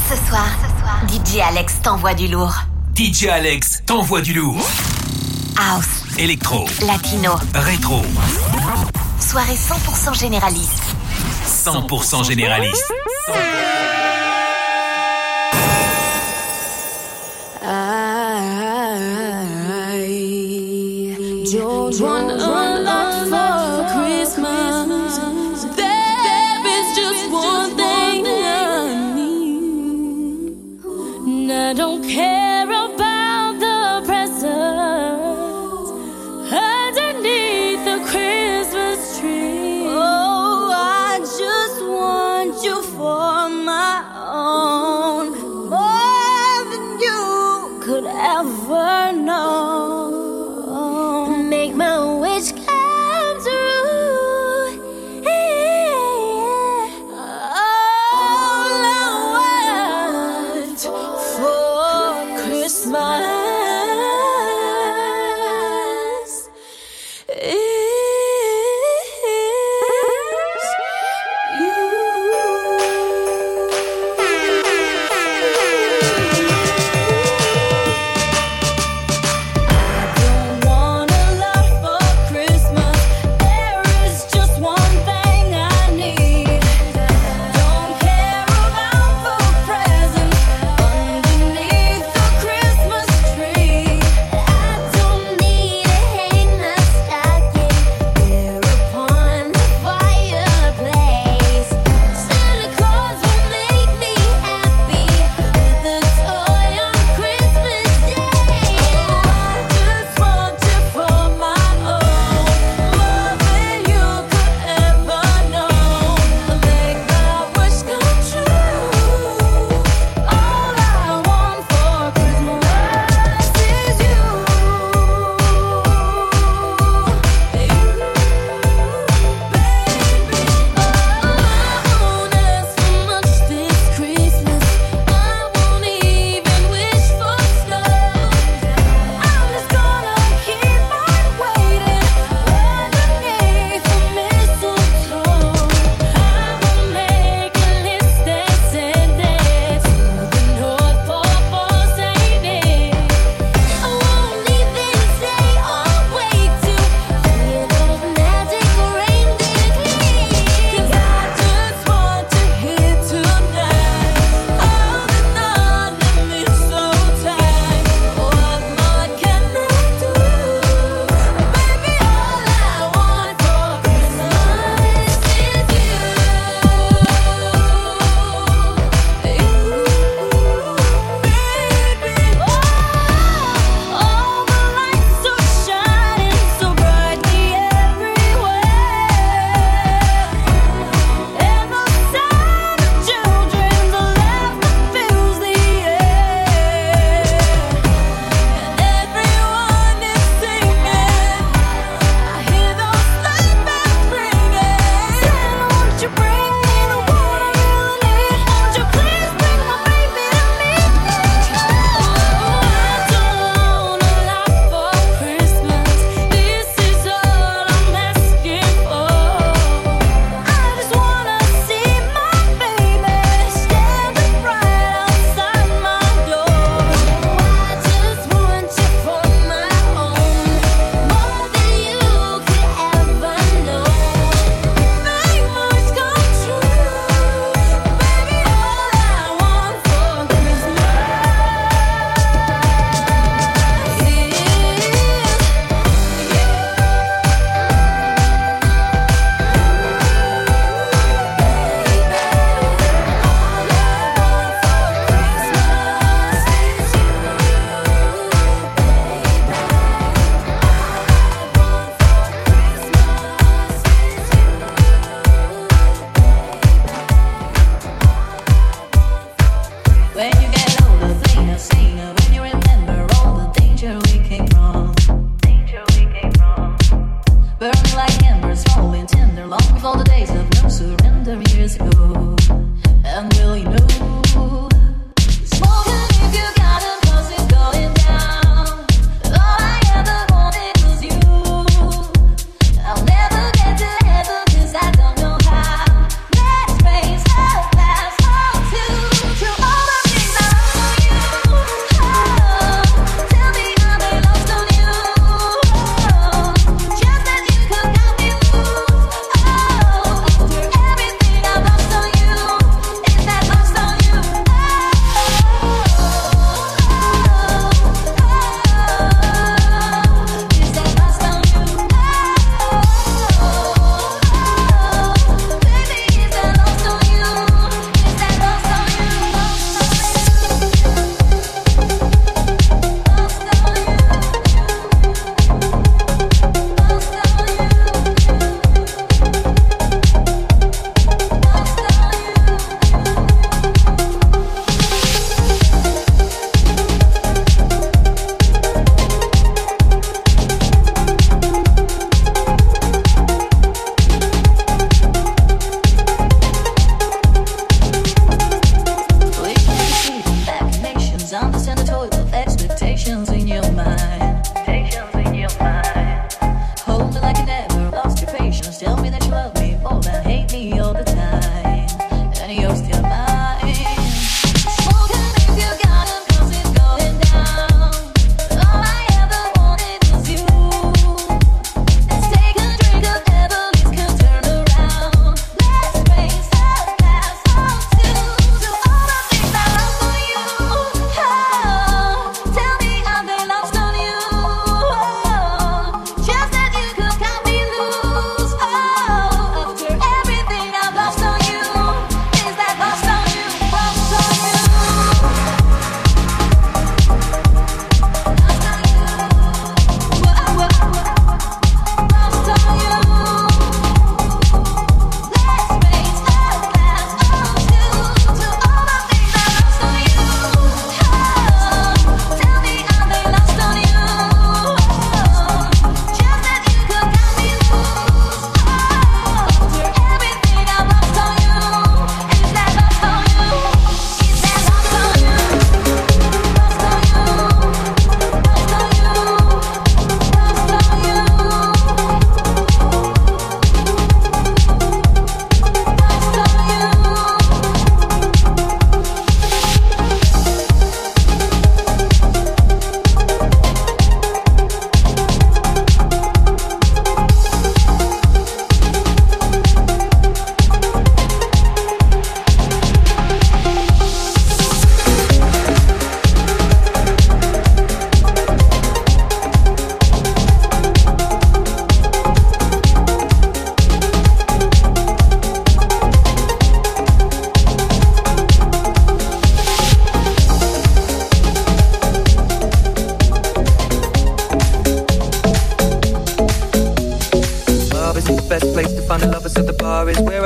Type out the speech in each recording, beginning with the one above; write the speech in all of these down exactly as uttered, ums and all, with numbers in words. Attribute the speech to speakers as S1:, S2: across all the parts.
S1: Ce soir, D J Alex t'envoie du lourd.
S2: D J Alex t'envoie du lourd.
S1: House,
S2: électro,
S1: latino,
S2: rétro.
S1: Soirée cent pour cent généraliste.
S2: cent pour cent généraliste.
S3: I don't want a lot for Christmas. There is just one thing I need. And I don't care about the presents underneath the Christmas tree. Oh, I just want you for my own, more than you could ever know. Make my wish come true. All I want for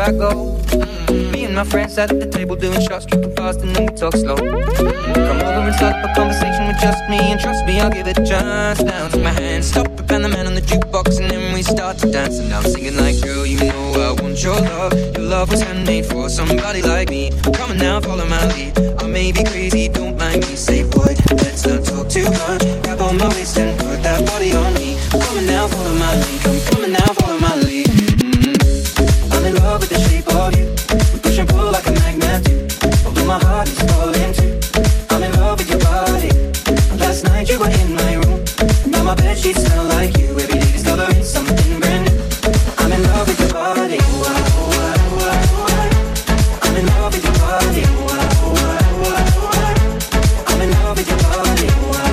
S4: I go. Me and my friends sat at the table doing shots, tripping fast, and then we talk slow. Come over and start up a conversation with just me, and trust me, I'll give it a chance. Now take my hand, stop it, and the man on the jukebox, and then we start to dance. And I'm singing like, girl, you know I want your love. Your love was handmade for somebody like me. Come on now, follow my lead. I may be crazy, don't mind me. Say, boy, let's not talk too much. Grab on my waist and put that body on me. Come on now, follow my lead. Come, come on now, follow my lead. Mm-hmm. I'm in love with the shape of you. We push and pull like a magnet do. Although my heart is falling too. I'm in love with your body. Last night you were in my room. Now my bedsheets smell like you. Every day discovering something brand new. I'm in love with your body. I'm in love with your body. I'm in love with your body.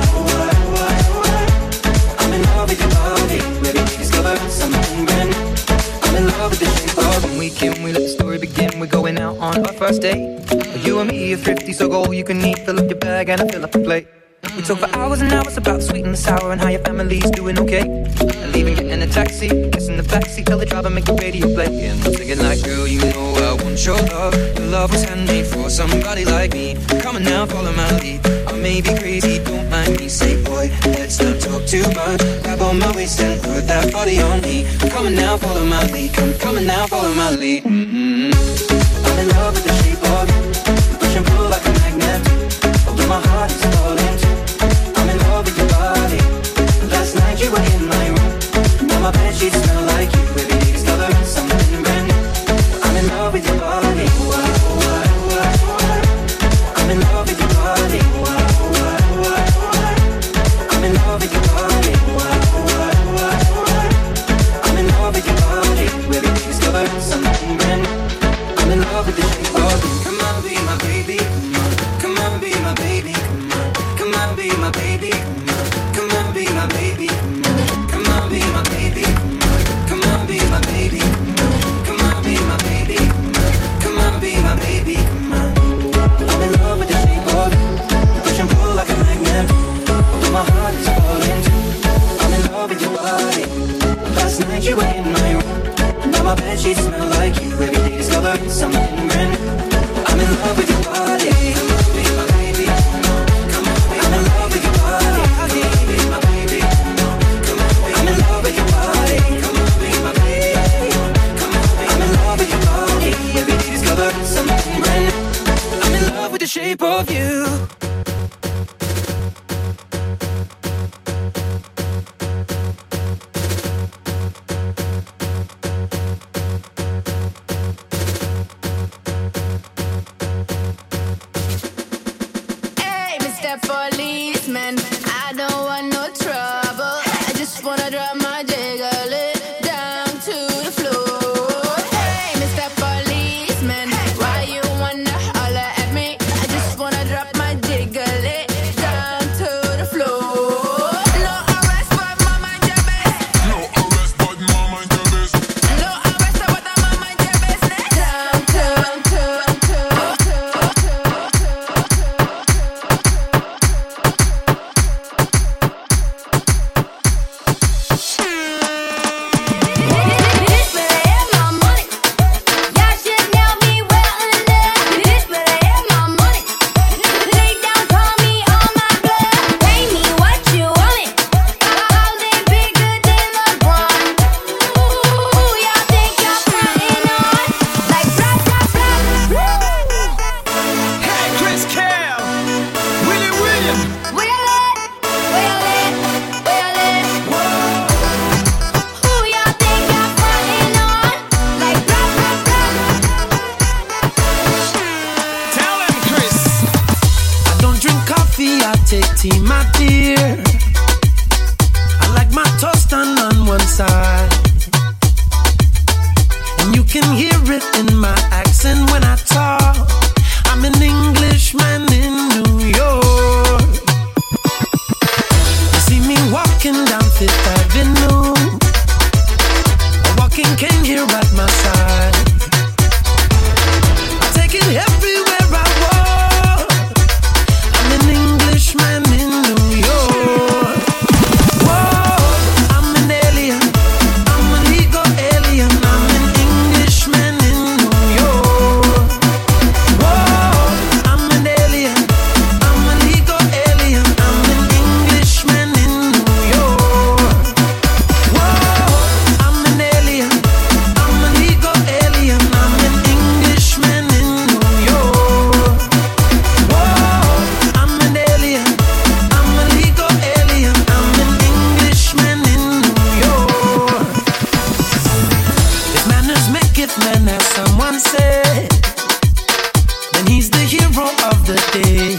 S4: I'm in love with your body. Every day discovering something brand new. I'm in love with the shape of when we can, we let the story begin. We're going out on our first date. You and me are thrifty, so go all you can eat. Fill up your bag and I fill up the plate. We talk for hours and hours about the sweet and the sour and how your family's doing okay. And leaving, getting a taxi, kissing the backseat, tell the driver make the radio play. And I'm singing like, girl, you know I want your love. Your love was handmade for somebody like me. Come on now, follow my lead. I may be crazy, don't mind me. Say, boy, let's not talk too much. Grab on my waist and put that body on me. Come on now, follow my lead. Come, come on now, follow my lead. Mm-hmm. I'm in love with the shape of you. Push and pull like a magnet. Although my heart is falling too. I'm in love with your body. Last night you were in my room. Now my bedsheets smell like you. Every day discovering something brand new. I'm in love with your body. I'm in love with your body. I'm in love with your body. I'm in love with your body. Every day discovering something brand new. I'm in love with the shape of you. Come on, be my baby. Come on, be my baby. Come on, be my baby. Come on, be my baby. Come on, be my baby. Come on, be my baby. Come on, be my baby. Come on, be my baby. I'm in love with the shape of you. Push and pull like a magnet. Although my heart is falling too. I'm in love with your body. Last night you were in my room. Now my bedsheets smell like you. Every day discovering something brand new. I'm in love with your body. Come on, be my baby. Come on, I'm in love with your body. Be my baby. Come on, I'm in love with your body. Come on, be my baby. Come on, I'm in love with your body. Every day discovering something brand new. I'm in love with the shape of you.
S3: Policeman, I don't want no trouble. I just wanna drop my jiggle it down to the floor. Hey, Mister Policeman, why you wanna holler at me? I just wanna drop my jiggle it down to the floor. No arrest, but mama and your business.
S5: No arrest, but mama and your business.
S3: No arrest, but the mama and your business. Down to, to, to, to, to.
S6: Take tea, my dear. I like my toast done on one side, and you can hear it in my accent when I talk. I'm an Englishman in New York. You see me walking down Fifth Avenue, a walking king here at my side. I take it everywhere I walk. I'm an Englishman in New York. Whoa, I'm an alien. I'm a legal alien. I'm an Englishman in New and he's the hero of the day.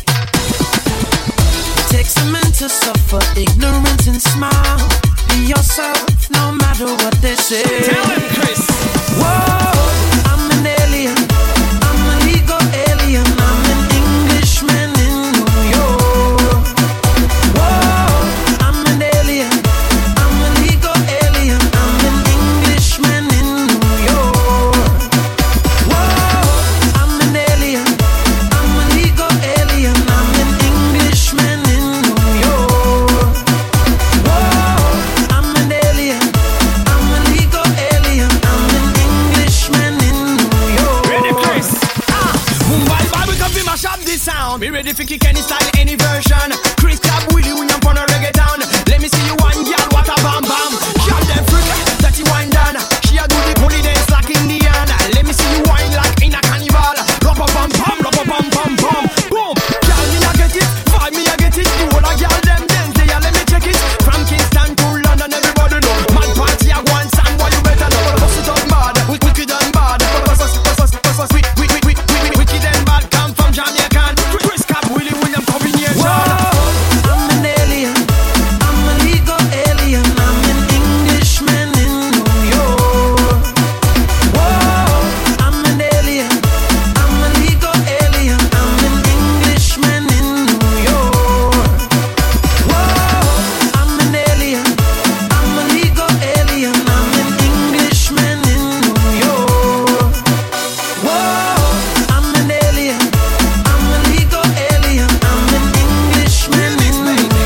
S6: It takes a man to suffer ignorance and smile. Be yourself, no matter what they say.
S7: Tell him, Chris.
S6: Whoa, I'm an alien. I'm a legal alien. I'm an Englishman in New York. Whoa, I'm an alien. I'm a legal alien. I'm an Englishman in New York. Whoa, I'm an alien. I'm a legal alien. I'm an Englishman in New York. Whoa, I'm an alien. I'm a legal alien. I'm an Englishman in New York.
S7: Ready, Chris? Ah, Mumbai Bible come fi mash up this sound. Be ready for kick any style, any version. Chris Club, Willie William from a reggaeton. Let me see you one girl, what a bam bam. Girl them freak, dirty wine down. She a do the bully dance like Indian. Let me see you wine like in a carnival. Rub a bam bam, rub a bam bam bam. Boom, girl me a get it, vibe me a get it. The whole a girl them dance, they a let me check it. From Kingston to London, everybody know. Man party a one sound, boy you better know. Bust it up bad, wicked and bad. Bust us, bust us, bust us, wicked, wicked, wicked, wicked and bad. Come from Jamaican. Chris Cap, Willie William combination.
S6: Whoa, I'm an alien. I'm a legal alien. I'm an Englishman in New York. Whoa, I'm an alien. I'm a legal alien. I'm an Englishman in New York. Whoa, I'm an alien. I'm a legal alien. I'm an Englishman in New York. Whoa, I'm an alien. I'm a legal alien. I'm an Englishman in New York.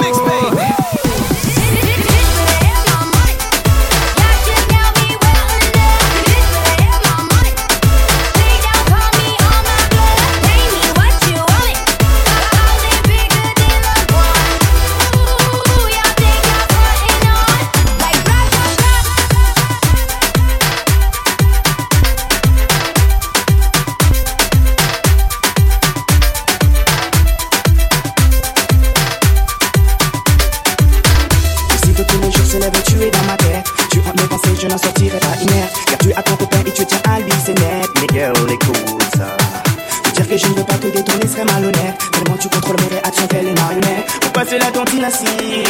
S8: Je sais que tous les jours se lève, tu es dans ma tête. Tu hantes mes pensées, je n'en sortirai pas inerte. Car tu as ton copain et tu tiens à lui, c'est net. Mais girl, écoute ça. Te dire que je ne veux pas te détourner serait malhonnête. Tellement tu contrôles mes réactions, telles les marionnettes. Pour passer la tontine assis.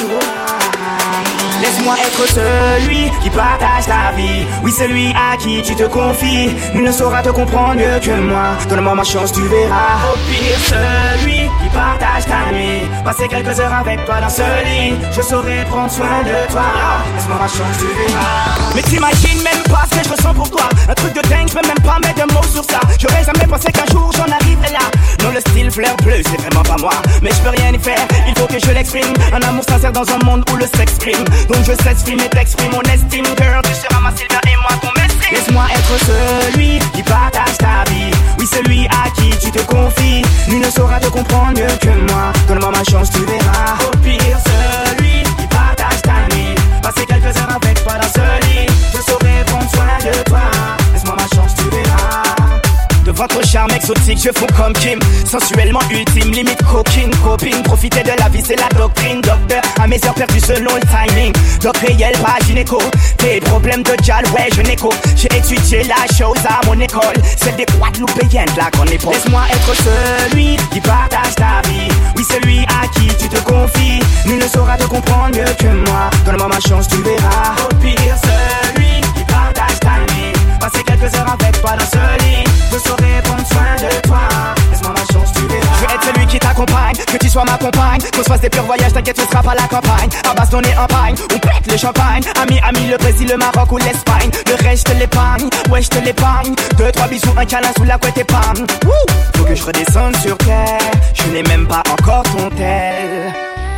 S8: Laisse-moi être celui qui partage ta vie. Oui, celui à qui tu te confies. Nul ne saura te comprendre mieux que moi. Donne-moi ma chance, tu verras. Au pire, celui qui partage ta nuit. Passer quelques heures avec toi dans ce lit. Je saurai prendre soin de toi. Laisse-moi ma chance, tu verras. Mais t'imagines même pas ce que je ressens pour toi. Un truc de dingue, je peux même pas mettre de mots sur ça. J'aurais jamais pensé qu'un jour j'en arriverais là. Non, le style fleur bleue, c'est vraiment pas moi. Mais je peux rien y faire, il faut que je l'exprime. Un amour sincère dans un monde où le sexe prime. Donc je s'exprime et t'exprime mon estime. Girl, tu seras ma Sylvia et moi ton mestre. Laisse-moi être celui qui partage ta vie. Oui, celui à qui tu te confies. Nul ne saura te comprendre mieux que moi. Donne-moi ma chance, tu verras. Au pire, celui qui partage ta nuit. Passer quelques heures avec toi dans ce lit. Je saurai prendre soin de toi. Laisse-moi ma chance, tu verras. De votre charme exotique, je fonds comme Kim. Sensuellement ultime, limite coquine, copine. Profiter de la vie, c'est la doctrine. Docteur, à mes heures perdues selon le timing. Doc réel, pas gynéco. Tes problèmes de jal, ouais, je n'écho. J'ai étudié la chose à mon école. Celle des Guadeloupéennes, là qu'on est pour. Laisse-moi être celui qui partage ta vie. Oui, celui à qui tu te confies. Nul ne saura te comprendre mieux que moi. Donne-moi ma chance, tu verras. Au pire, celui qui partage ta nuit. Passer quelques heures avec toi dans ce lit. Je saurai prendre soin de toi. Laisse-moi ma chance, tu verras. Je veux être celui qui t'accompagne, que tu sois ma compagne. Qu'on se fasse des purs voyages, t'inquiète, ce sera pas la campagne. À bastonner en pagne, on pète le champagne. Ami, ami, le Brésil, le Maroc ou l'Espagne. Le reste, je te l'épargne, ouais, je te l'épargne. Deux, trois bisous, un câlin sous la couette épargne. Wouh, faut que je redescende sur terre. Je n'ai même pas encore ton tel.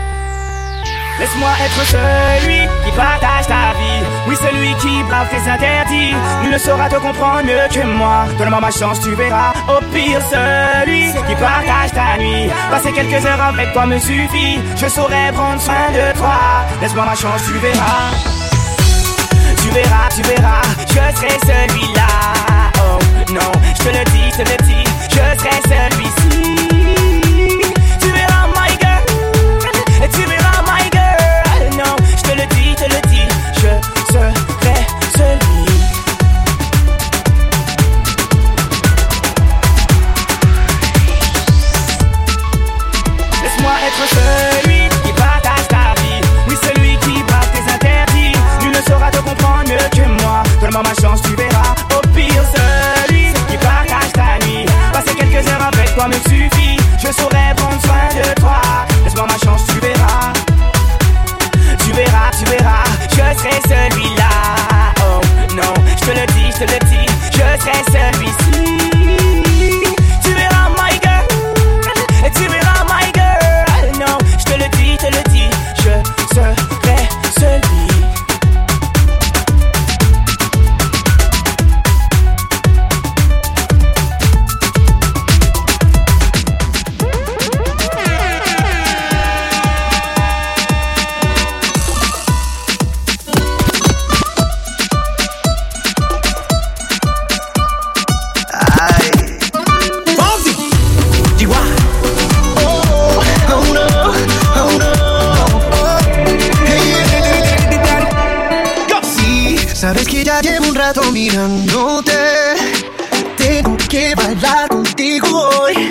S8: Laisse-moi être celui qui partage ta vie. Oui, celui qui brave tes interdits. Nul ne saura te comprendre mieux que moi. Donne-moi ma chance, tu verras. Au pire, celui qui partage ta nuit. Passer quelques heures avec toi me suffit. Je saurai prendre soin de toi. Laisse-moi ma chance, tu verras. Tu verras, tu verras. Je serai celui-là. Oh non, je te le dis, je te le dis. Je serai celui-ci. Tu verras, my girl. Tu verras, my girl. Non, je te le dis, je te le dis, je serai celui. toi me suffit. Je saurais prendre soin de toi. Laisse-moi ma chance, tu verras. Tu verras, tu verras, je serai celui-là. Oh non, je te le dis, je te le dis, je serai celui-ci. Tu verras my girl, tu verras my girl. Non, je te le dis, je te le dis, je serai celui.
S9: Sabes que ya llevo un rato mirándote. Tengo que bailar contigo hoy.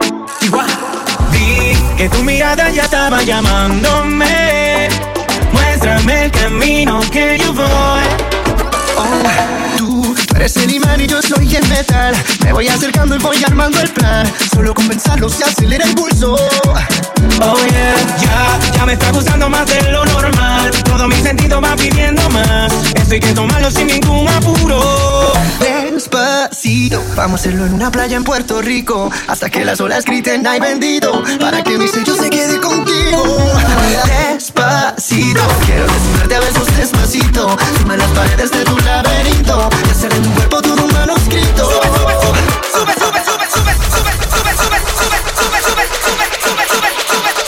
S8: Vi que tu mirada ya estaba llamándome. Muéstrame el camino que yo voy.
S9: Oh, tú, tú eres el imán y yo soy el metal. Me voy acercando y voy armando el plan. Solo con pensarlo se acelera el pulso.
S8: Oh yeah, ya, ya me está gustando más de lo normal. Todo mi sentido va pidiendo más. Esto hay que tomarlo sin ningún apuro.
S9: Despacito, vamos a hacerlo en una playa en Puerto Rico. Hasta que las olas griten ay bendito. Para que mi sello se quede contigo. Despacito, quiero desnudarte a besos despacito. Suma las paredes de tu laberinto y hacer de tu cuerpo todo un manuscrito. Sube, sube, sube, sube, sube, sube, sube, sube, sube, sube, sube, sube, sube, sube, sube, sube.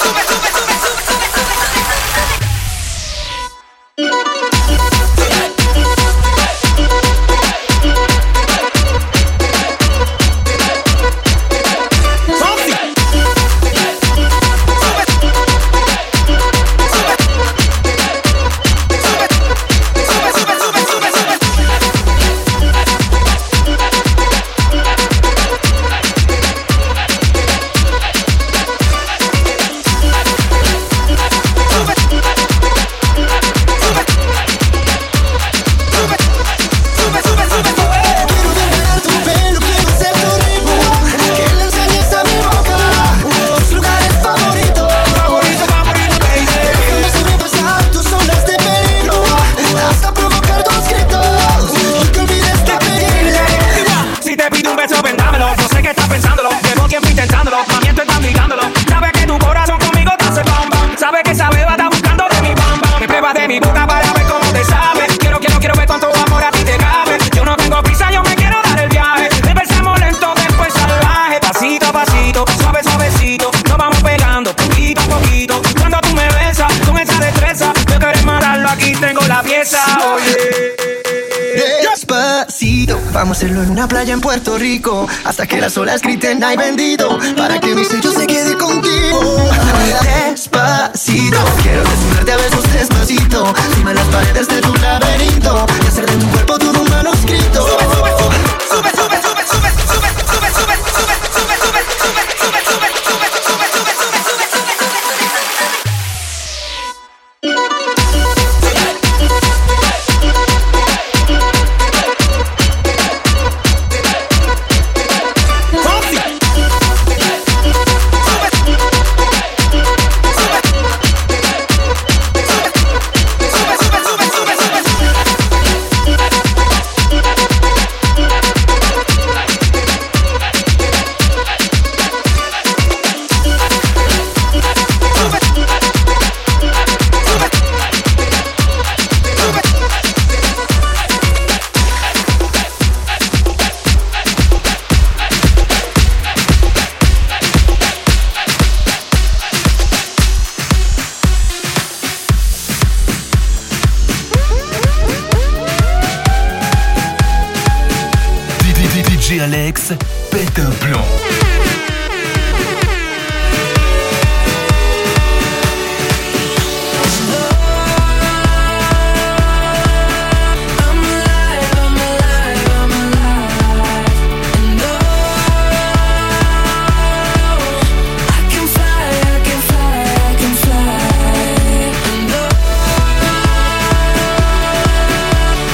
S9: Vamos a hacerlo en una playa en Puerto Rico. Hasta que las olas griten ay bendito. Para que mi sello se quede contigo. Despacito, quiero desnudarte a besos despacito. Suma las paredes de tu laberinto y hacer de tu cuerpo todo un manuscrito. Sube, sube, sube, sube, sube, sube, sube, sube, sube, sube, sube, sube, sube, sube, sube, sube, sube, sube,
S2: D J Alex pète un plomb.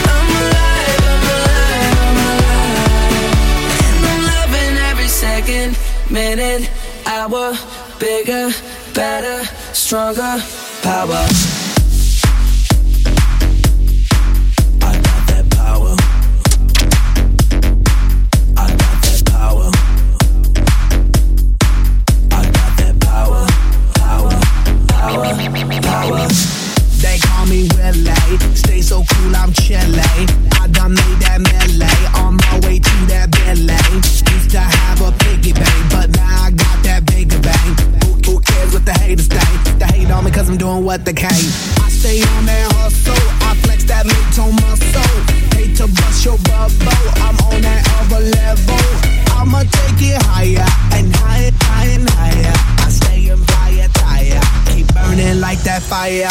S10: Second
S6: second, minute, hour, bigger, better, stronger, power. I got that power. I got that power. I got that power. Power, power, power.
S7: They call me Willie, stay so cool, I'm chillin'. I done made that melee, on my way to that Billy. Used to have a piggy bank, but now I got that bigger bang. Who, who cares what the haters think? They hate on me cause I'm doing what they can. I stay on that hustle, I flex that mid-tone muscle. Hate to bust your bubble, I'm on that other level. I'ma take it higher, and higher, higher, and higher. I stay in fire, tire, keep burning like that fire.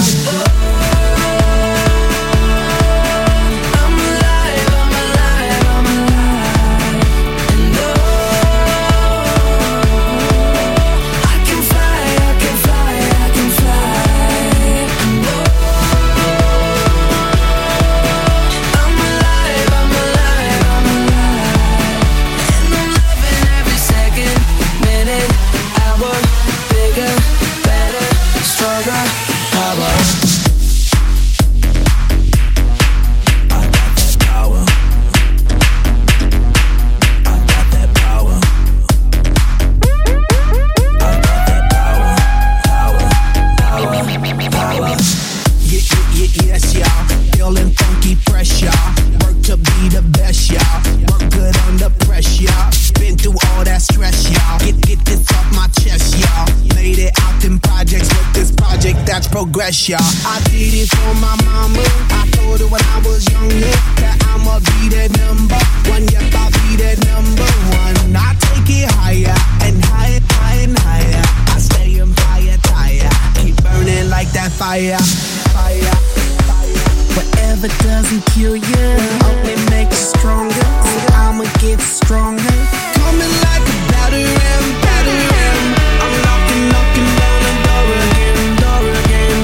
S7: Y'all. I did it for my mama. I told her when I was younger that I'ma be that number one. Yep, I'll be that number one. I take it higher and higher, higher and higher. I stay in fire, tire, keep burning like that fire, fire, fire. Whatever doesn't kill you only makes you stronger. So I'ma get stronger. Coming like a battering, battering. I'm knocking, knocking down the door again, door again.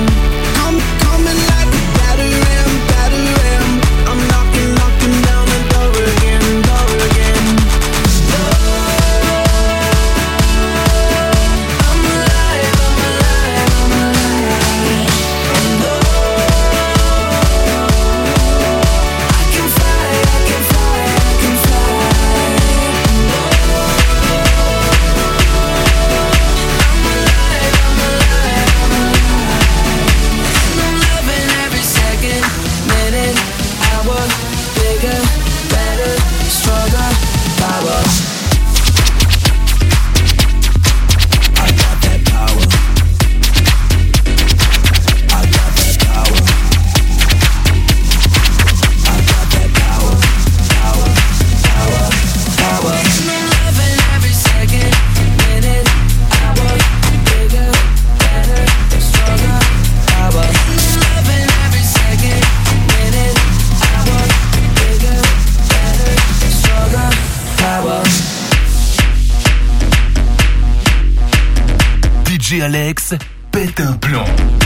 S2: D J Alex pète un plomb.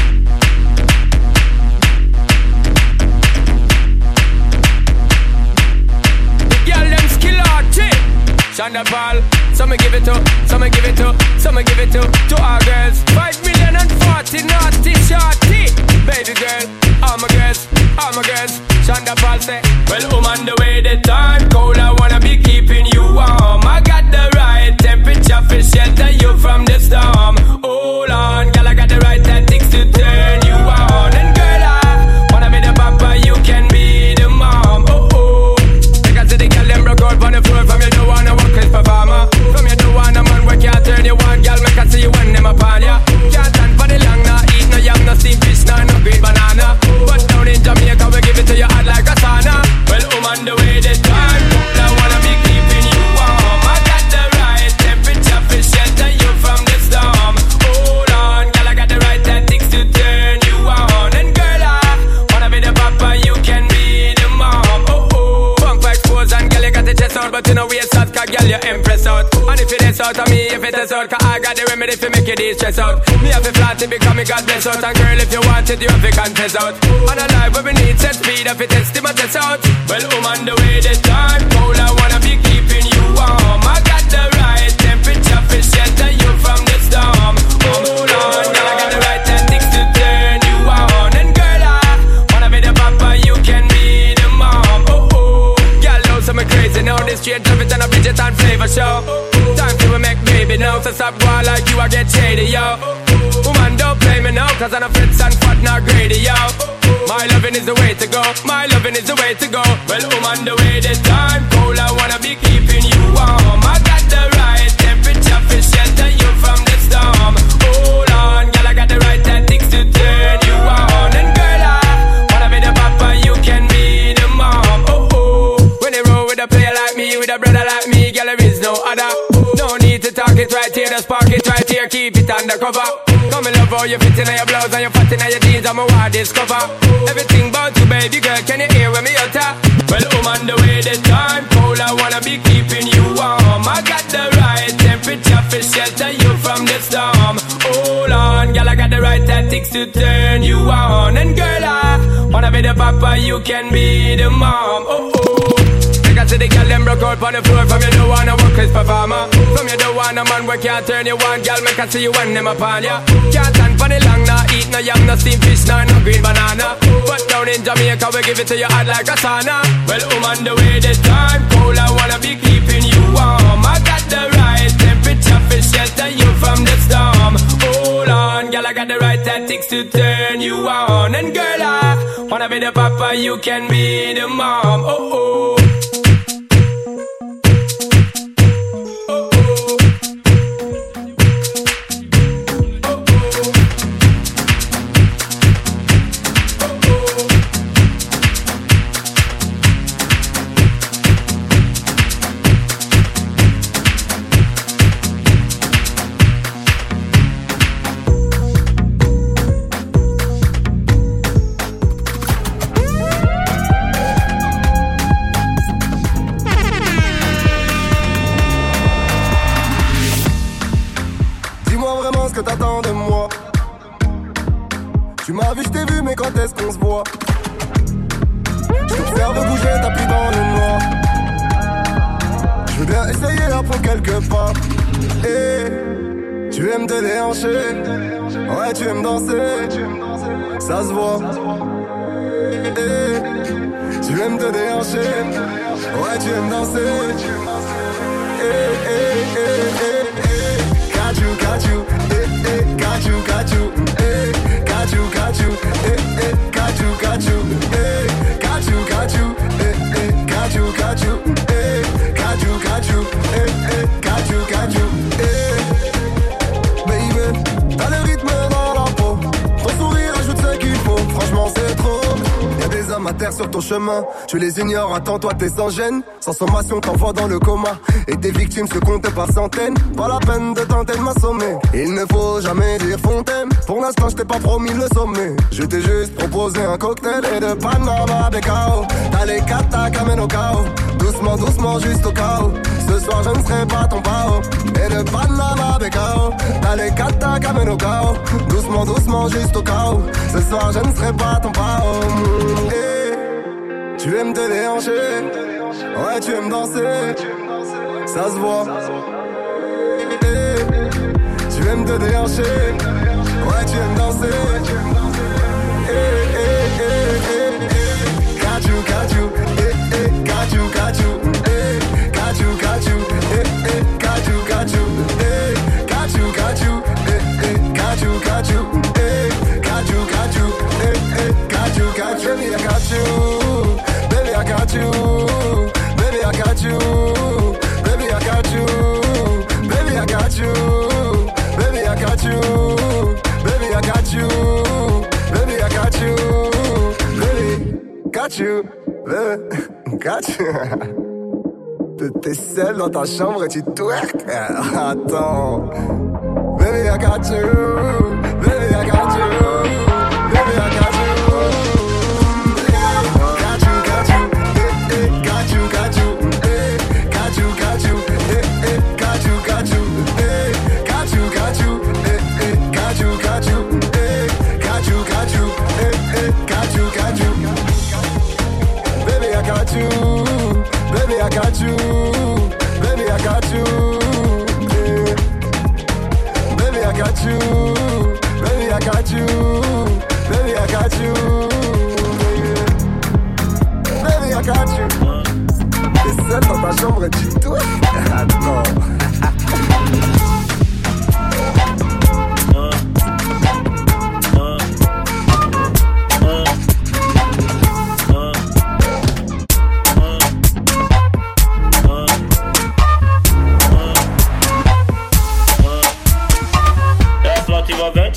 S10: Shonda Paul, some give it to, some give it to, some give it to, to our girls. Five million and forty naughty shorty. Baby girl, all my girls, all my girls. Shonda Paul say, well, I'm on the way the time cold. I wanna be keeping you warm. I got the right temperature for shelter you from the storm. Hold on, girl, I got the right tactics to turn you on. And girl, I wanna be the papa, you can be the mom. Oh oh, because the girl them broke out on the floor from you don't wanna work as performer. From you don't wanna man work, can't turn you on, girl, make I see you when them upon ya. Can't stand for the long, nah, eat no yam, no steamed fish, nah, no green banana. But down in Jamaica, we give it to you hot like a sauna. Well, I'm on the way this time, I wanna be keeping you warm. I got the right temperature for shelter you from the storm. Hold on, girl, I got the right tactics to turn you on. And girl, I wanna be the papa, you can be the mom. Oh oh, punk for expose and girl, you got the chest out, but you know we out, cause girl, you impress out. And if it is out of me, if it is out, cause I got the remedy for make you de-stress out. Me have to flat it because me God bless out. And girl, if you want it, you have to confess out. And a life where we need set speed, if it test it, test out. Well, I'm on the way this time cold, I wanna be keeping you warm. I got the right temperature baby now. So stop going like you, I get shady, yo. Woman, don't play me now, cause I'm a fritz and fat, not greedy, yo. My loving is the way to go, my loving is the way to go. Well, woman, the way the time cold, I wanna be keeping you warm. I got the right temperature for shelter you from the storm. Hold on, girl, I got the right tactics to turn you on. And girl, I wanna be the papa, you can be the mom. Oh, oh. When they roll with a player like me, with a brother like me, girl, there is no other. No need to talk it right here, just park it right here, keep it undercover. Come and love how you fit in your blouse and you fat in your jeans, I'm a wild discover. Everything about you, baby girl, can you hear when me utter? Well, I'm on the way, the time cold, I wanna be keeping you warm. I got the right temperature for shelter you from the storm. Hold on, girl, I got the right tactics to turn you on. And girl, I wanna be the papa, you can be the mom. Oh, oh. I see the girl them broke out on the floor. From you don't wanna work as performer. From you don't want a man where can't turn you on. Girl, make I see you when them upon ya. Can't stand for the long, nah eat no yam, no steamed fish, nah no green banana. But down in Jamaica we give it to you hot like a sauna. Well, I'm on the way, the time cold, I wanna be keeping you warm. I got the right temperature for shelter you from the storm. Hold on, girl, I got the right tactics to turn you on. And girl, I wanna be the papa, you can be the mom. Oh, oh.
S11: Quand est-ce qu'on se voit? Je t'observe bouger, t'as pris dans le noir. Je veux bien essayer d'apprendre quelques pas. Et tu aimes te déhancher. Ouais, tu aimes danser. Ça se voit. Et tu aimes te déhancher. Ouais, tu aimes danser. Et, et, et, et, et. Got you, got you. Eh, eh, got you, got you. Eh, got you, got you. Eh, eh, got you, got you. Eh, got you, got you. Eh, eh, got you, got you. Eh, got you, got you. Eh, eh, got you, got you. Eh, baby, t'as le rythme dans la peau. Ton sourire ajoute ce qu'il faut. Franchement, c'est trop. Y'a des hommes à terre sur ton chemin. Tu les ignores, attends, toi t'es sans gêne. Sans sommation, t'envoies dans le coma. Et tes victimes se comptent par centaines. Pas la peine de tenter de m'assommer. Il ne faut jamais dire fontaine. Pour l'instant, je t'ai pas promis le sommet. Je t'ai juste proposé un cocktail et de Panama de K O. T'as les katas qu'amènent au chaos. Doucement, doucement, juste au chaos. Ce soir, je ne serai pas ton pao. Et de Panama de K O. T'as les katas qu'amènent au chaos. Doucement, doucement, juste au chaos. Ce soir, je ne serai pas ton pao. Et tu aimes te déhancher. Ouais, tu aimes danser. Ça se voit. Et tu aimes te déhancher. Ouais, tu aimes danser. Eh, eh, eh, eh, eh. Got you, got you. Eh, eh, got you, got you. Eh, got you, got you. Eh, eh, got you, got you. Eh, got you, got you. Eh, eh, got you, got you. Eh, got you, got you. Eh, eh, got you, got you. Baby, I got you. Baby, I got you. Baby, I got you. Baby, I got you. Baby, I got you. Baby, I got you. Baby, I got you. Baby, I got you. Baby, got you. Baby, got you. T'es seul dans ta chambre et tu twerk. Attends. Baby, I got you. Baby, I got you. Baby, I got you. Got you, got you. Eh, eh, got you, got you. Eh, got you, got you. Eh, eh, got you, got you. Eh, got you, got you. Eh, eh, got you, got you. Eh, got you, got you. Eh, eh, got you, got you. Baby, I got you. Baby, I got you. Baby, I got you. Yeah. Baby, I got you. Baby, I got you. Baby, I got you. Yeah. Baby, I got you. T'es seul dans ta chambre et tu touches. Attends.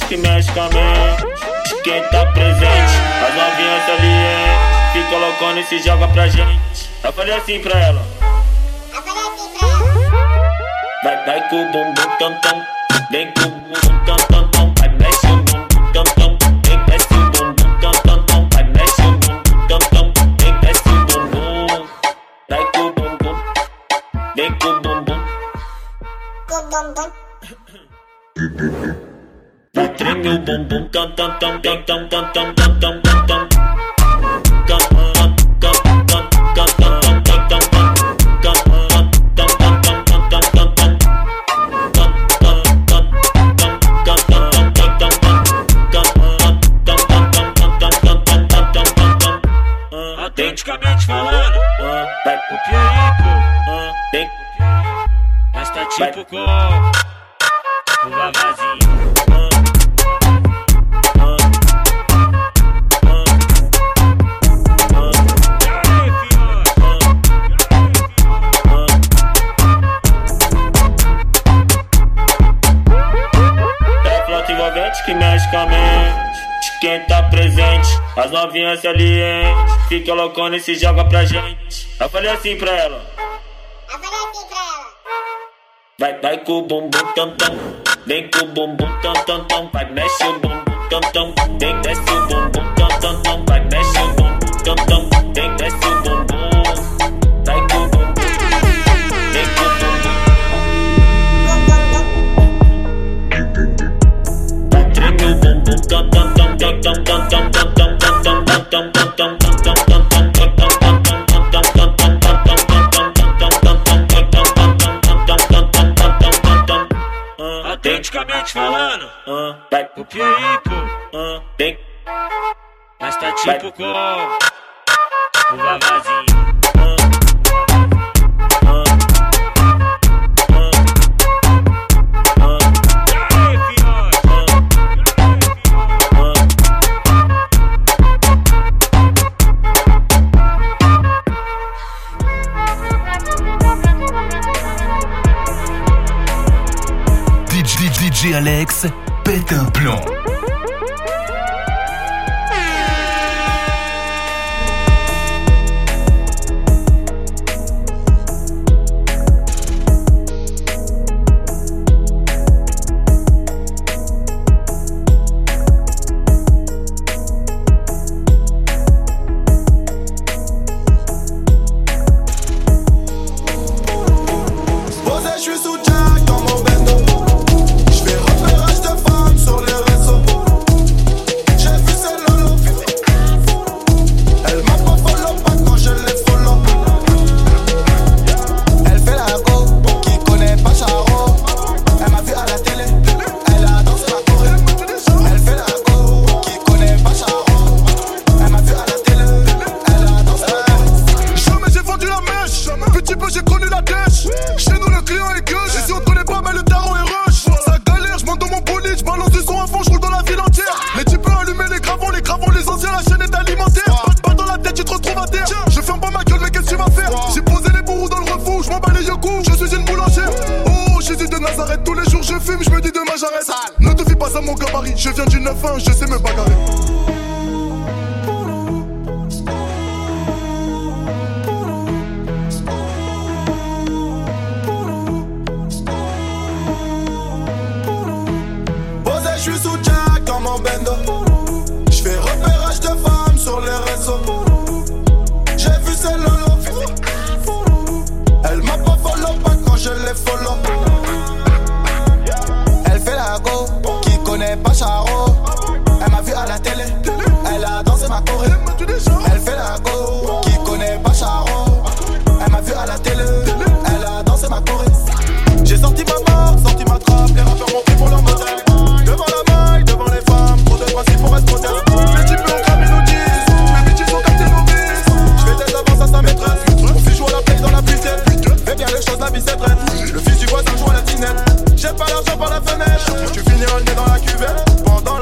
S12: que mexe com a mente. Quem tá presente, as novinhas ali, fica colocando e se joga pra gente. Eu falei assim pra ela.
S13: Eu falei assim pra ela.
S12: Vai, vai com o bumbum tam tam, vem com o bumbum tam tam tam, vai mexe o bumbum tam tam, vem mexe o bumbum tam tam tam, vai mexe o bumbum tam tam, vem mexe o bumbum, vai com o bumbum, vem com o bumbum,
S13: Com o bumbum.
S12: vai treme o bumbum tam tam tam tam tam tam tam tam tam tam tam.
S10: Autenticamente falando,
S12: vai
S10: o Pierico,
S12: tem,
S10: mas tá tipo com o Vavazinho.
S12: Que mexe com a mente, quem tá presente, as novinhas se alienem, fica loucona e se joga pra gente. Eu falei assim pra ela.
S13: Eu falei assim pra ela.
S12: Vai, vai com o bumbum tam tam, vem com o bumbum tam tam tam, vai mexe o bumbum tam tam, vem desce o bumbum tam tam tam, vai mexe o bumbum tam tam, vem desce o bumbum, vai com o bumbum, vem com o bumbum.
S10: Autenticamente falando,
S12: vai
S10: o Pierico,
S12: tem,
S10: mas tá tipo com o Vavazinho.
S2: D J Alex pète un plomb.
S11: Posé, je suis sous Jack dans mon bendo. J'fais repérage de femmes sur les réseaux. J'ai vu ces lolo. Elle m'a pas follow pas quand je les follow. Elle fait la go, qui connaît pas Charo. Elle m'a vu à la télé, elle a dansé la Corée. Elle fait la go, qui connaît pas Charo. Elle m'a vu à la télé, elle a dansé la Corée. Jamais j'ai vendu la mèche, petit peu j'ai connu la dèche. Chez nous le client est gueuche, et si on te connaît pas, mais le tarot est rush. Ça galère, j'monte dans mon bolide, j'balance du son à fond, j'roule dans la ville entière. Les types peuvent allumer les gravons, les gravons, les anciens, la chaîne est alimentaire. Pas de balle dans la tête, tu te retrouves à terre. Je ferme pas ma gueule, mais qu'est-ce que tu vas faire? J'ai posé les bourreaux dans le refou, j'm'en bats les yokos, je suis une boulangère. Oh, Jésus de Nazareth, tous les jours je fume, j'me dis demain j'arrête. Ne te fie pas à mon gabarit, je viens du neuf un, je sais me bagarrer. Posé, je suis sous Jack dans mon bendo. J'fais repérage de femmes sur les réseaux. J'ai vu ces lolo. Elle m'a pas follow pas quand je les follow. Elle fait la go, qui connaît pas Charo. Elle m'a vu à la télé, elle a dansé ma Corée. Elle fait la go, qui connaît pas Charo. Elle m'a vu à la télé, elle a dansé ma Corée. J'ai sorti ma marque, sorti ma trappe, les rappeurs m'ont pris pour leur modèle. Devant la maille, devant les femmes, trop de principes pour être modèle. Les types ont cramé nos dix, les bitches ont capté nos vices. J'fais des avances à sa maîtresse, mon fils joue à la play dans la piscine. Fais bien les choses, la vie c'est traite. Le fils du voisin joue à la tinette. J'ai pas l'argent par la fenêtre, tu finiras le nez dans la cuvette. Pendant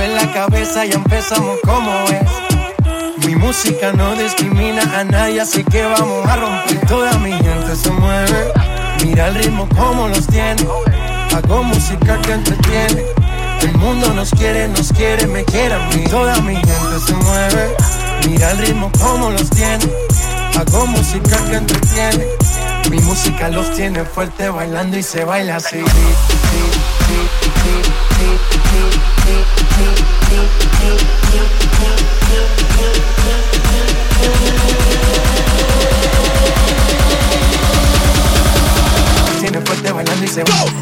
S6: mueve la cabeza y empezamos como es. Mi música no discrimina a nadie, así que vamos a romper. Toda mi gente se mueve, mira el ritmo como los tiene. Hago música que entretiene. El mundo nos quiere, nos quiere, me quiere a mí. Toda mi gente se mueve, mira el ritmo como los tiene. Hago música que entretiene. Mi música los tiene fuerte bailando y se baila así. Tiene fuerte bailando y se baila.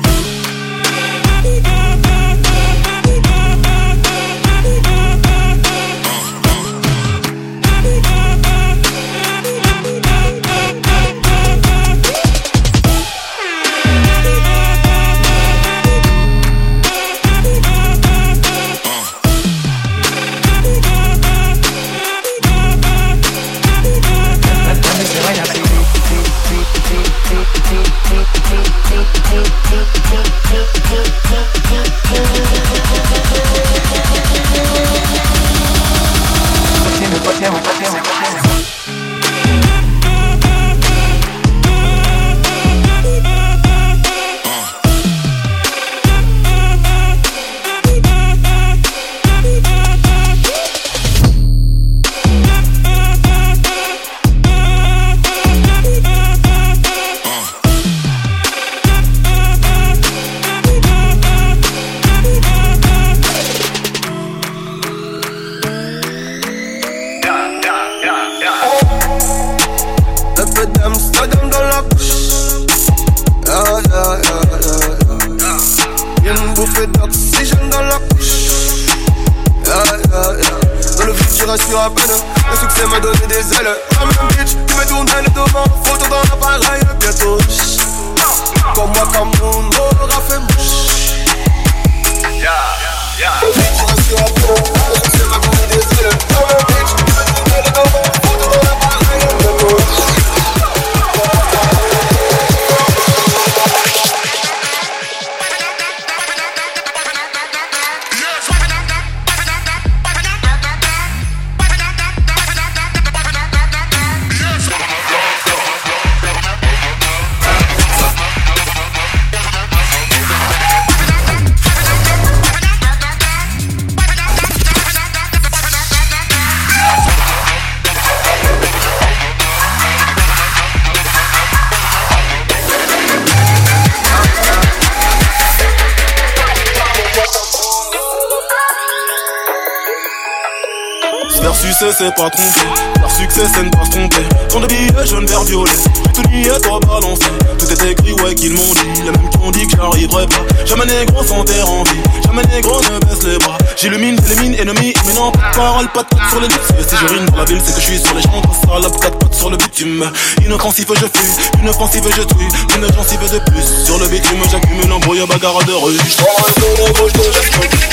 S14: C'est pas trompé, leur succès c'est ne pas se tromper. Tant de billets jaune, vert, violet, tout n'y est pas balancé. Tout est écrit, ouais, qu'ils m'ont dit, les mêmes qui ont dit que j'arriverai pas. Jamais négro sans terre en vie, jamais négro ne baisse les bras. J'illumine, j'élimine, ennemi, mais non, pas de parole, pas de tête sur les lips. Si je rime dans la ville, c'est que je suis sur les champs, pas salope, quatre pattes sur le bitume. Inoffensif, je fuis, une offensive, je tue, une gencive de plus. Sur le bitume, j'accumule un brouillard bagarre de rue. J'prends un peu de gauche, de geste,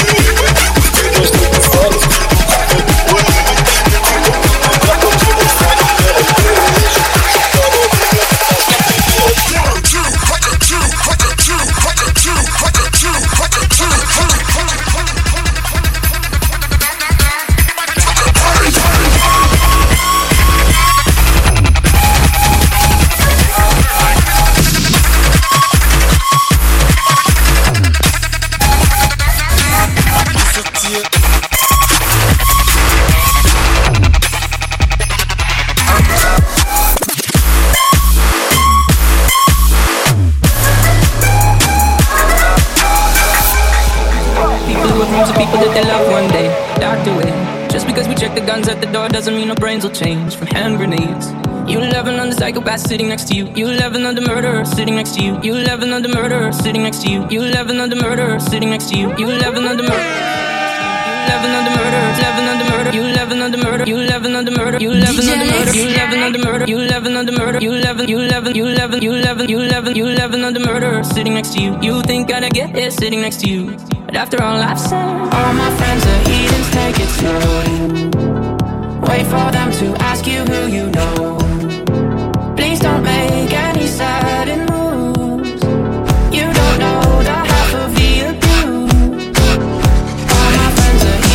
S14: doesn't mean our brains will change from hand grenades. You eleven on the psychopath sitting next to you. You eleven on the murderer sitting next to you. You eleven on the murderer sitting next to you. You eleven on the murderer sitting next to you. You eleven on the murderer. eleven on the murder, eleven on the murder, you eleven on the murder, you eleven on the murder, you eleven on the murder, you eleven on the murder, you eleven on the murder, you eleven, you eleven, you eleven, you eleven, you eleven, you eleven on the murder sitting next to you. You think I'd get it sitting next to you, but after all I've said, all my friends are heathens, take it slowly. Wait for them to ask you who you know. Please don't make any sudden moves. You don't know the half of the abuse. All my friends are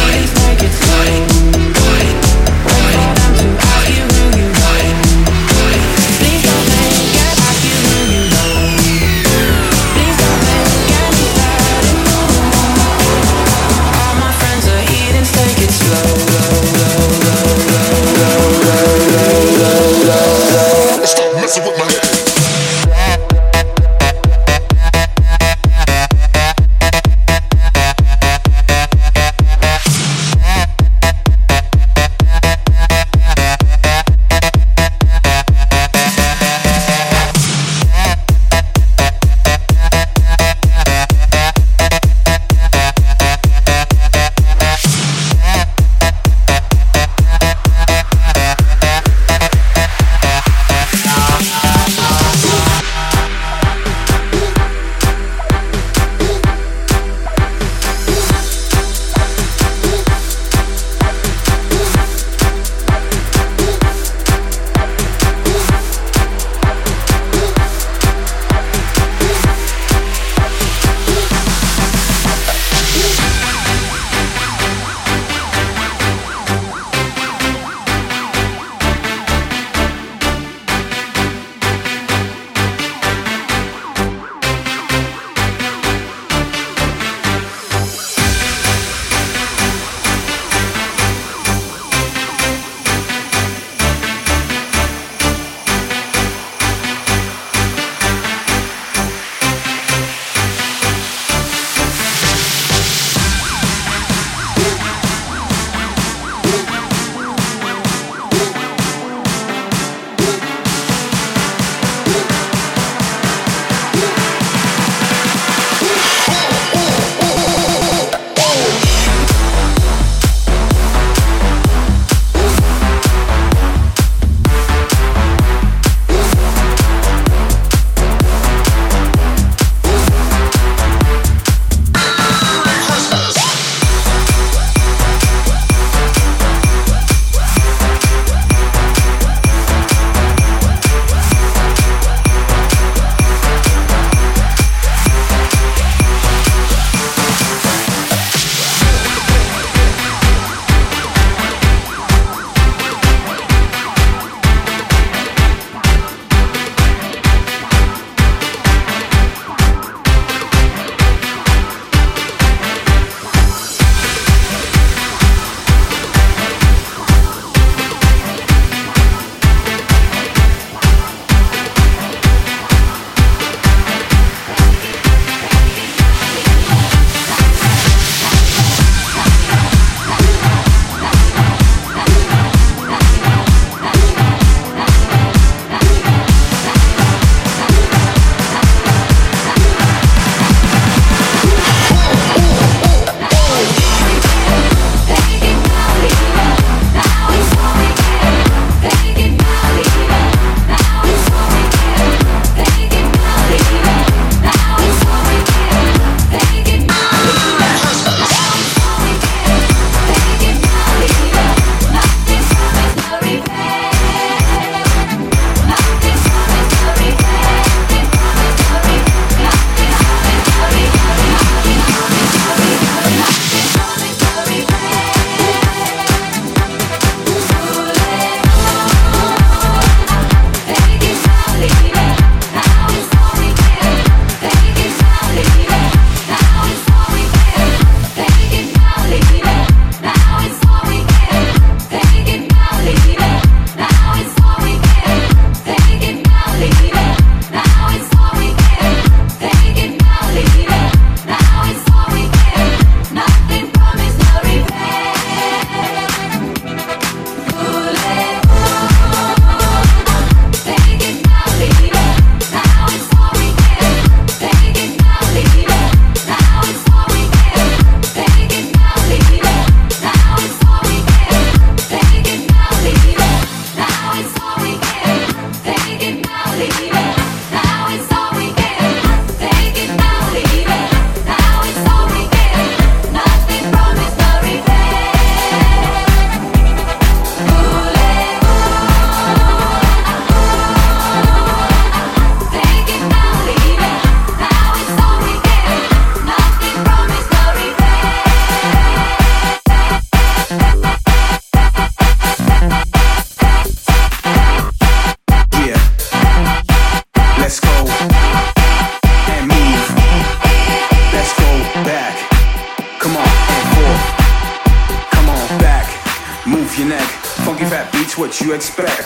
S15: move your neck. Funky fat beats, what you expect?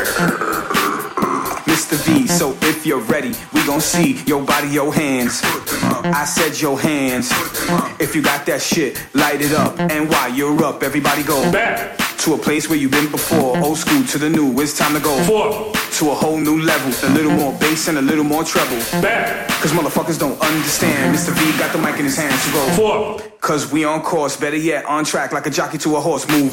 S15: Mister V, so if you're ready, we gon' see your body, your hands. I said your hands. If you got that shit, light it up. And while you're up, everybody go back to a place where you've been before. Old school to the new, it's time to go Four. To a whole new level. A little more bass and a little more treble. Back. Cause motherfuckers don't understand. Mister V got the mic in his hand, so go Four. Cause we on course, better yet, on track like a jockey to a horse. Move.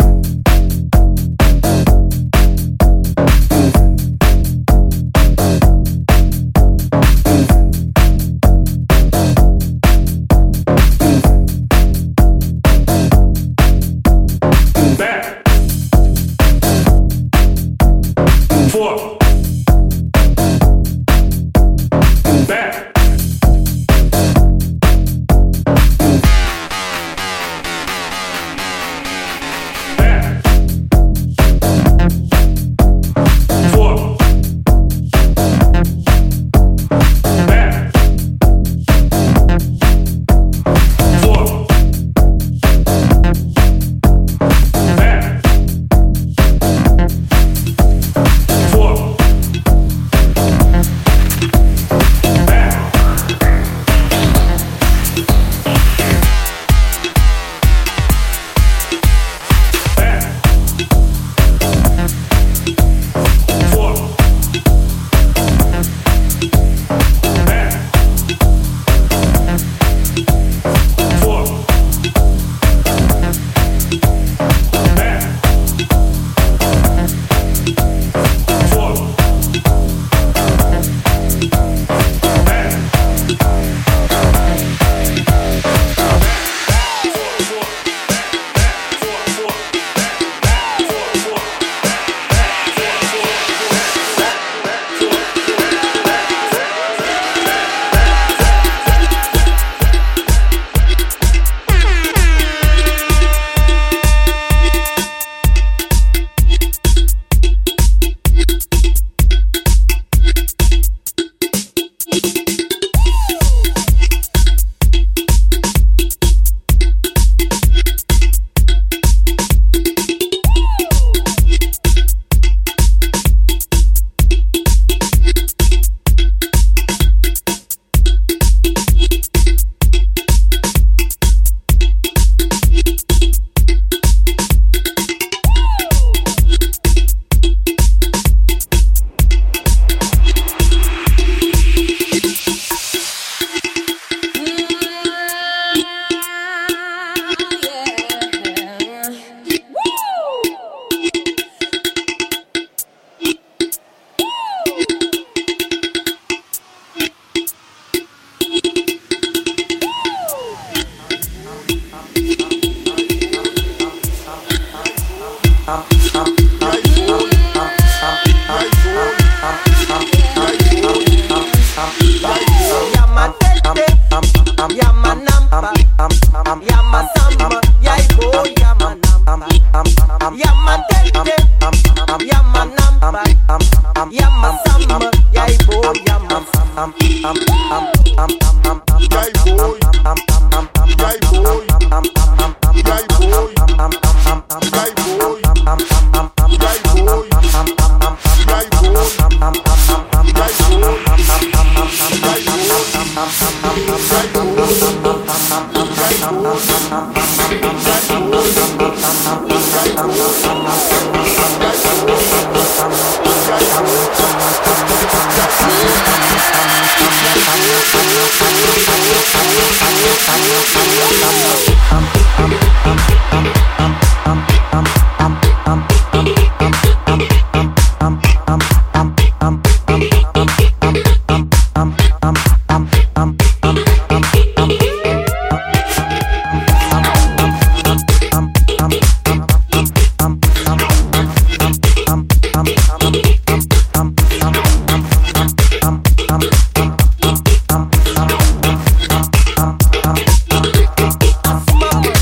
S16: Smile.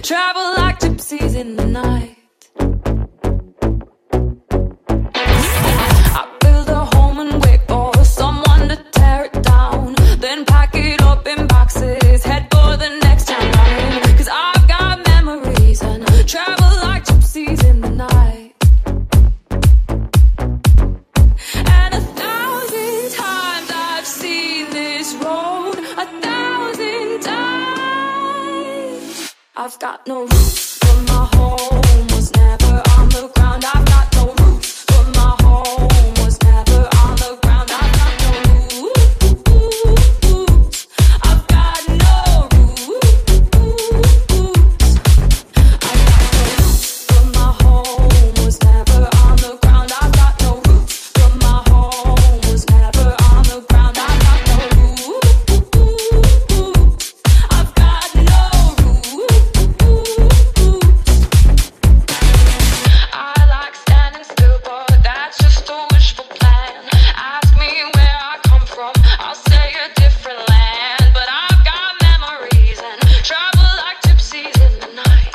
S16: travel like gypsies in the night. I build a home and wait for someone to tear it down, then pack it up in boxes, head for the next town running. Cause I've got memories and travel like gypsies in the night. And a thousand times I've seen this road, a thousand times. I've got no roots, but my home was never on the ground. I've got no roots, but my home was never on the ground. I've got no roots. I've got no roots. I've got no roots, but my home was never on the ground. I've got no roots, but my home was never on the ground. I've got no roots. I've got no roots. I like standing still, but that's just a wishful plan. Ask me where I come from, I'll say a different land. But I've got memories and travel like gypsies in the night.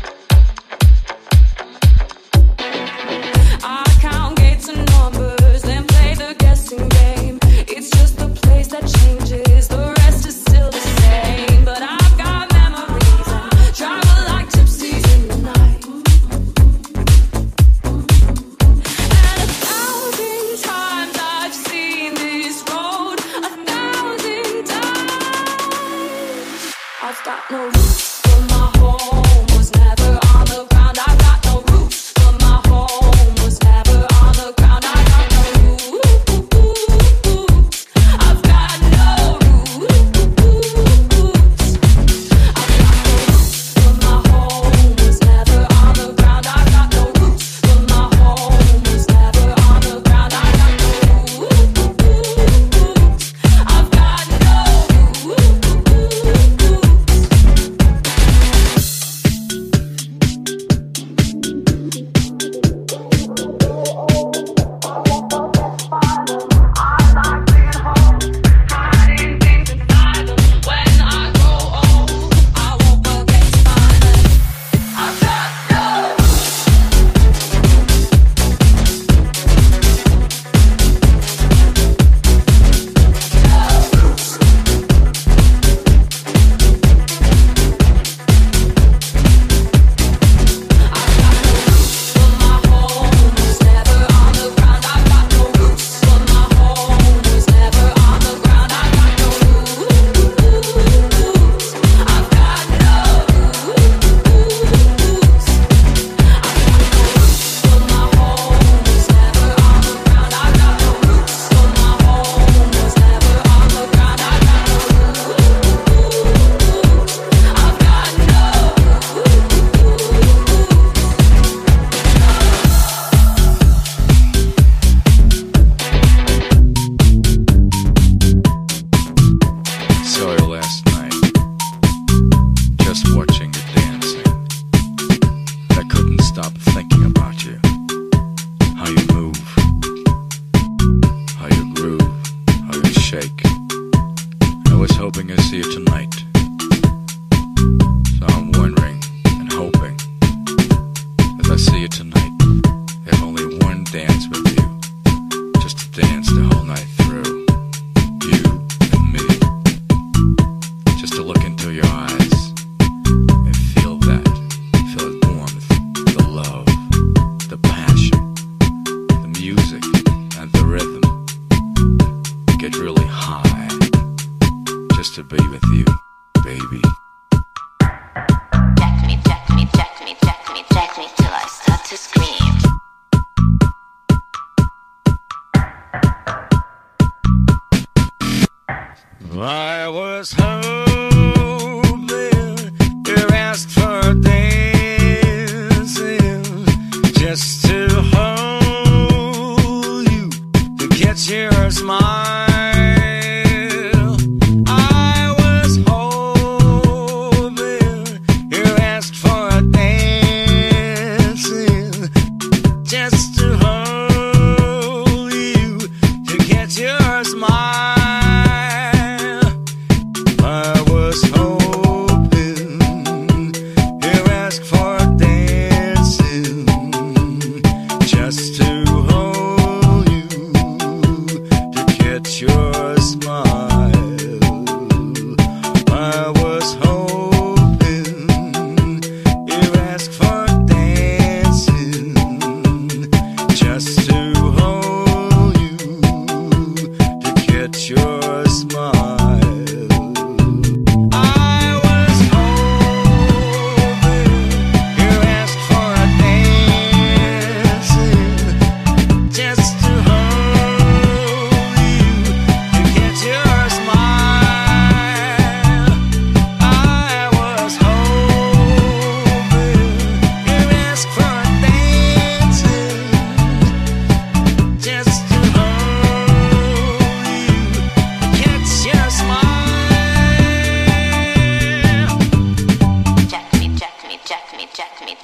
S16: I count gates and numbers, then play the guessing game. It's just a place that changes, the rest is still the same. But I've got memories and travel like gypsies in the night. And a thousand times I've seen this road, a thousand times. I've got no roots, but my home was never on the ground. I've got no roots, but my home was never on the ground. I've got no roots. I've got no roots. I've got no roots, but my home was never on the ground. I've got no roots, but my home was never on the ground. I've got no roots. I've got no
S17: Saw you last night, just watching you dancing. I couldn't stop thinking about you. How you move, how you groove, how you shake. I was hoping I'd see you tonight. So I'm wondering and hoping, as I see you tonight, there's only one dance with you. Just to dance the whole night through. You and me. Just to look into your eyes and feel that, feel the warmth, the love.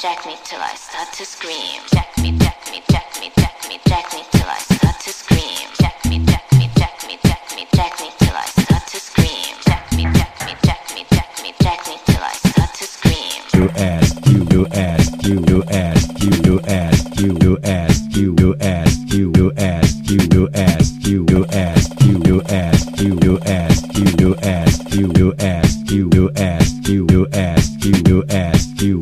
S1: jack me till I start to scream. Jack me, jack me, jack me, jack me, jack me till I start to scream. Jack me, jack me, jack me, jack me, jack me till I start to scream. Jack me, jack me, jack me, jack me, jack me till I start to scream.
S18: You ask, you, you ask, you, you ask, you, you ask, you, you ask, you, you ask, you, you ask, you, you ask, you, you ask, you, you ask, you, you ask, you, you ask, you, you ask, you, you ask, you, you ask, you, you ask, you.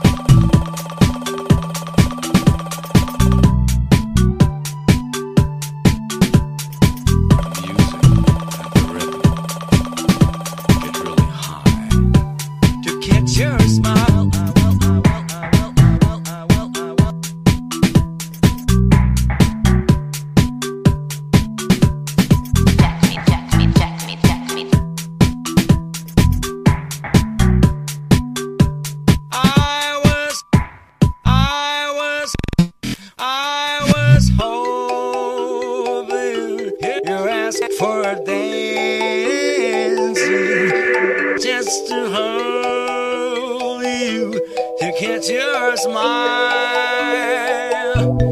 S6: To catch your smile, I was, I was, I was hoping you asked for a dancing just to hold you, to catch your smile.